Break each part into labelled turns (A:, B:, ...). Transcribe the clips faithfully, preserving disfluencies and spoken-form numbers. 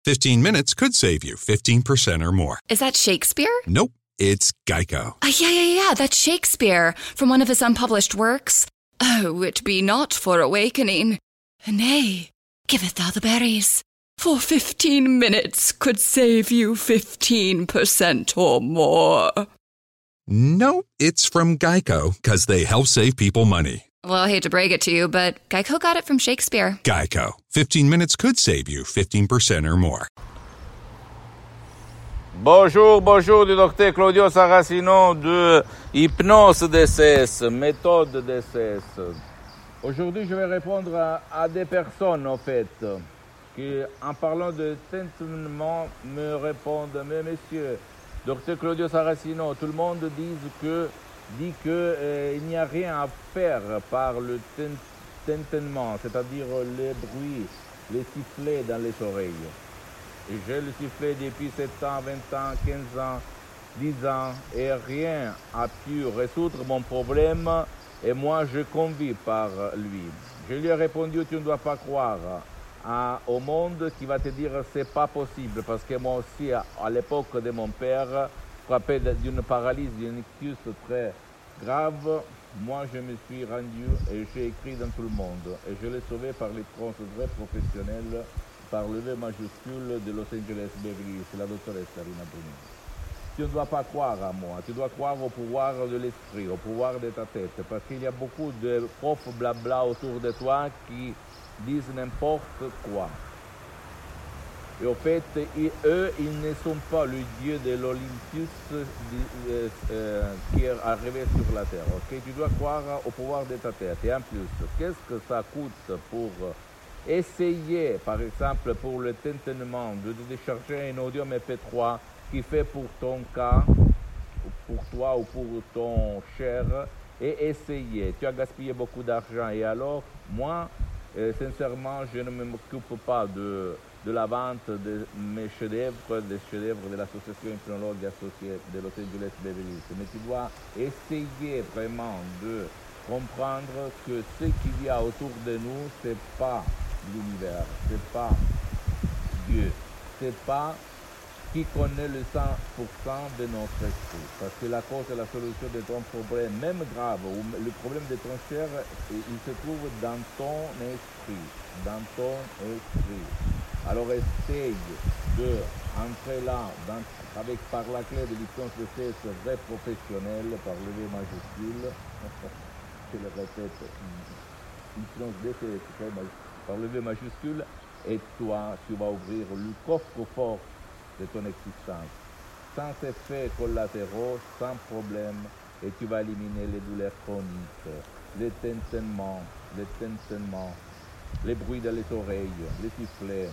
A: fifteen minutes could save you fifteen percent or more.
B: Is that Shakespeare?
A: Nope, it's Geico.
B: Uh, yeah, yeah, yeah, that's Shakespeare from one of his unpublished works. Oh, it be not for awakening. Nay, giveth thou the berries. For fifteen minutes could save you fifteen percent or more.
A: Nope, it's from Geico, because they help save people money.
B: Well, I hate to break it to you, but Geico got it from Shakespeare.
A: Geico. fifteen minutes could save you fifteen percent or more.
C: Bonjour, bonjour du docteur Claudio Saracino de Hypnose D C S, méthode D C S. Aujourd'hui, je vais répondre à, à des personnes, en fait, qui, en parlant de tentement, me répondent, mais monsieur, docteur Claudio Saracino, tout le monde dit que dit que euh, il n'y a rien à faire par le tintement, c'est-à-dire les bruits, les sifflets dans les oreilles. Et je le sifflais depuis sept ans, vingt ans, quinze ans, dix ans, et rien a pu résoudre mon problème, et moi je convis par lui. Je lui ai répondu, tu ne dois pas croire à, au monde qui va te dire c'est pas possible, parce que moi aussi, à, à l'époque de mon père, frappé d'une paralysie, d'une ictus très grave, moi je me suis rendu et j'ai écrit dans tout le monde. Et je l'ai sauvé par les trans vrais professionnels, par le V majuscule de Los Angeles Beverly Hills, la doctoresse Sarina Bruni. Tu ne dois pas croire à moi, tu dois croire au pouvoir de l'esprit, au pouvoir de ta tête, parce qu'il y a beaucoup de profs blabla autour de toi qui disent n'importe quoi. Et au fait, ils, eux, ils ne sont pas le dieu de l'Olympus euh, euh, qui est arrivé sur la terre. Okay? Tu dois croire au pouvoir de ta tête. Et en plus, qu'est-ce que ça coûte pour essayer, par exemple, pour le tintement, de décharger un audio M P trois qui fait pour ton cas, pour toi ou pour ton cher, et essayer. Tu as gaspillé beaucoup d'argent. Et alors, moi, euh, sincèrement, je ne m'occupe pas de... de la vente de mes chefs-d'œuvre, des chefs-d'œuvre de l'association hypnologue associée de Los Angeles Beverly Hills. Mais tu dois essayer vraiment de comprendre que ce qu'il y a autour de nous, c'est pas l'univers, c'est pas Dieu, c'est pas qui connaît le cent pour cent de notre esprit. Parce que la cause et la solution de ton problème, même grave, ou le problème de ton cher, il se trouve dans ton esprit, dans ton esprit. Alors essaye de entrer là dans, avec, par la clé de l'hypnose de C S vrai professionnel, par le V majuscule, je le répète, hypnose de C S par le V majuscule, et toi, tu vas ouvrir le coffre-fort de ton existence, sans effets collatéraux, sans problème, et tu vas éliminer les douleurs chroniques, les tintements, les tintements, les bruits dans les oreilles, les sifflets,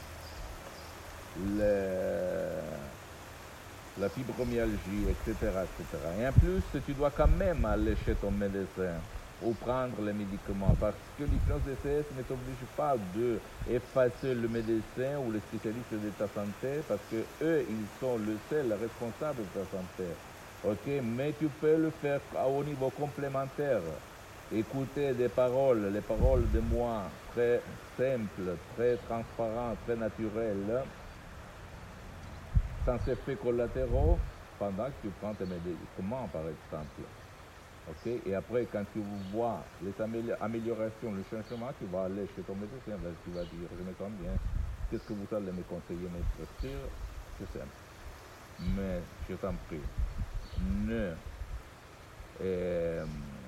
C: Le, la fibromyalgie, et cetera, et cetera. Et en plus, tu dois quand même aller chez ton médecin ou prendre les médicaments, parce que l'hypnose D C S ne t'oblige pas d'effacer le médecin ou le spécialiste de ta santé, parce que eux, ils sont le seul responsable de ta santé. Ok, mais tu peux le faire au niveau complémentaire. Écouter des paroles, les paroles de moi, très simples, très transparentes, très naturelles, sans effets collatéraux, pendant que tu prends tes médicaments, par exemple. Okay? Et après, quand tu vois les améliorations, le changement, tu vas aller chez ton médecin, tu vas dire, je me sens bien, qu'est-ce que vous allez me conseiller, me prescrire? C'est simple. Mais, je t'en prie, ne euh,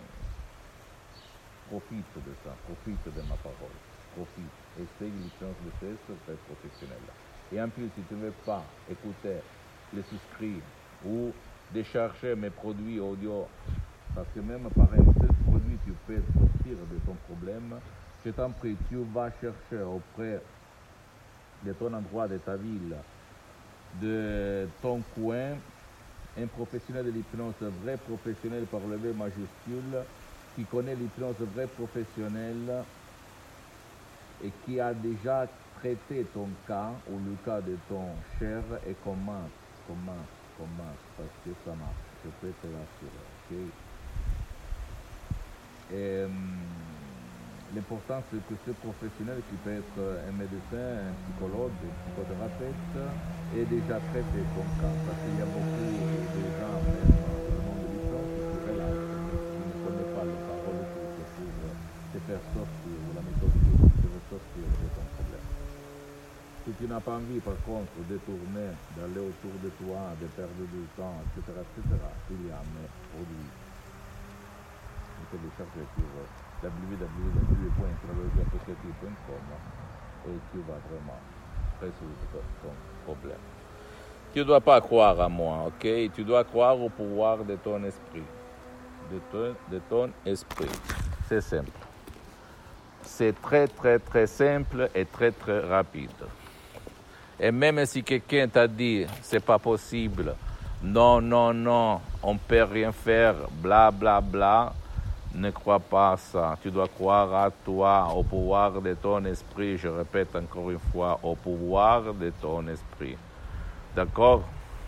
C: profite de ça, profite de ma parole, profite, essaye l'hypnose de C S très professionnel. Et en plus, si tu ne veux pas écouter les souscrits ou décharger mes produits audio, parce que même par un seul produit, tu peux sortir de ton problème, je t'en prie, tu vas chercher auprès de ton endroit, de ta ville, de ton coin, un professionnel de l'hypnose vrai professionnel par le V majuscule, qui connaît l'hypnose vrai professionnel et qui a déjà traité ton cas ou le cas de ton cher et comment, comment, comment, parce que ça marche, je peux te l'assurer, ok? Et, l'important c'est que ce professionnel qui peut être un médecin, un psychologue, un psychothérapeute ait déjà traité ton cas, parce qu'il y a beaucoup de gens, même dans le monde de l'hypnose, qui se relaxent, qui ne connaissent pas les paroles pour te faire sortir, la méthode pour te faire sortir de ton problème. Si tu n'as pas envie, par contre, de tourner, d'aller autour de toi, de perdre du temps, et cetera, et cetera, il y a mes produits. Vous pouvez chercher sur w w w point impronologie associative point com et tu vas vraiment résoudre ton problème. Tu ne dois pas croire à moi, ok? Tu dois croire au pouvoir de ton esprit. De ton, de ton esprit. C'est simple. C'est très, très, très simple et très, très rapide. Et même si quelqu'un t'a dit c'est pas possible, non, non, non, on peut rien faire, bla, bla, bla, ne crois pas à ça. Tu dois croire à toi, au pouvoir de ton esprit. Je répète encore une fois, au pouvoir de ton esprit. D'accord?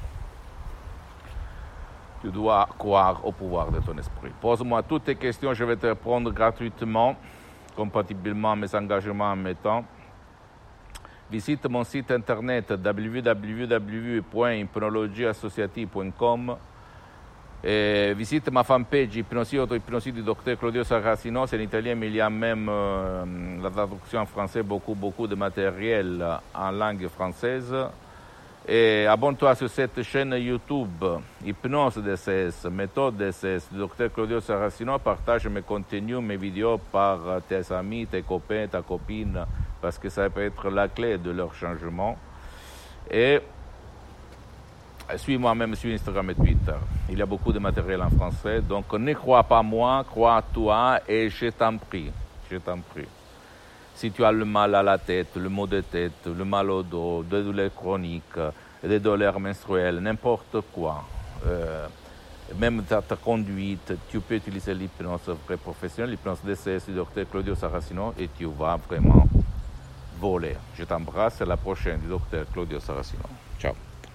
C: Tu dois croire au pouvoir de ton esprit. Pose-moi toutes tes questions, je vais te répondre gratuitement, compatiblement à mes engagements en mes temps. Visite mon site internet w w w point hypnologie associative point com et visite ma fanpage Hypnosie Auto-Hypnosie du docteur Claudio Saracino. C'est en italien, mais il y a même euh, la traduction en français, beaucoup, beaucoup de matériel en langue française. Et abonne-toi sur cette chaîne YouTube, Hypnose D C S, méthode D C S, du docteur Claudio Saracino. Partage mes contenus, mes vidéos par tes amis, tes copains, ta copine, parce que ça peut être la clé de leur changement. Et suis-moi même sur Instagram et Twitter. Il y a beaucoup de matériel en français, donc ne crois pas moi, crois toi et je t'en prie, je t'en prie. Si tu as le mal à la tête, le maux de tête, le mal au dos, des douleurs chroniques, des douleurs menstruelles, n'importe quoi, euh, même ta, ta conduite, tu peux utiliser l'hypnose vrai professionnelle, l'hypnose D C S du docteur Claudio Saracino et tu vas vraiment voler. Je t'embrasse, à la prochaine du docteur Claudio Saracino. Ciao.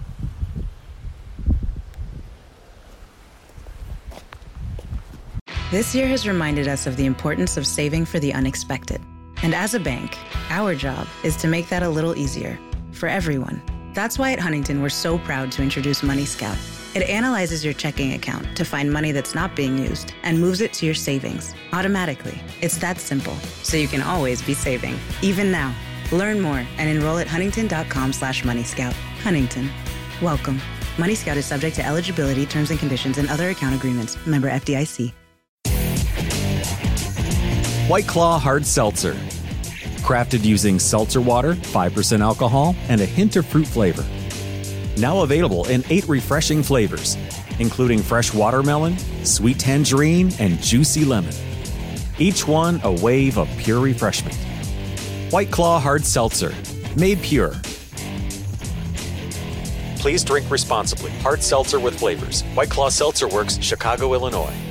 D: This year has reminded us of the importance of saving for the unexpected. And as a bank, our job is to make that a little easier for everyone. That's why at Huntington, we're so proud to introduce Money Scout. It analyzes your checking account to find money that's not being used and moves it to your savings automatically. It's that simple, so you can always be saving, even now. Learn more and enroll at huntington.com slash moneyscout. Huntington. Welcome. Money Scout is subject to eligibility, terms and conditions, and other account agreements. Member F D I C.
E: White Claw Hard Seltzer. Crafted using seltzer water, five percent alcohol, and a hint of fruit flavor. Now available in eight refreshing flavors, including fresh watermelon, sweet tangerine, and juicy lemon. Each one a wave of pure refreshment. White Claw Hard Seltzer. Made pure. Please drink responsibly. Hard seltzer with flavors. White Claw Seltzer Works, Chicago, Illinois.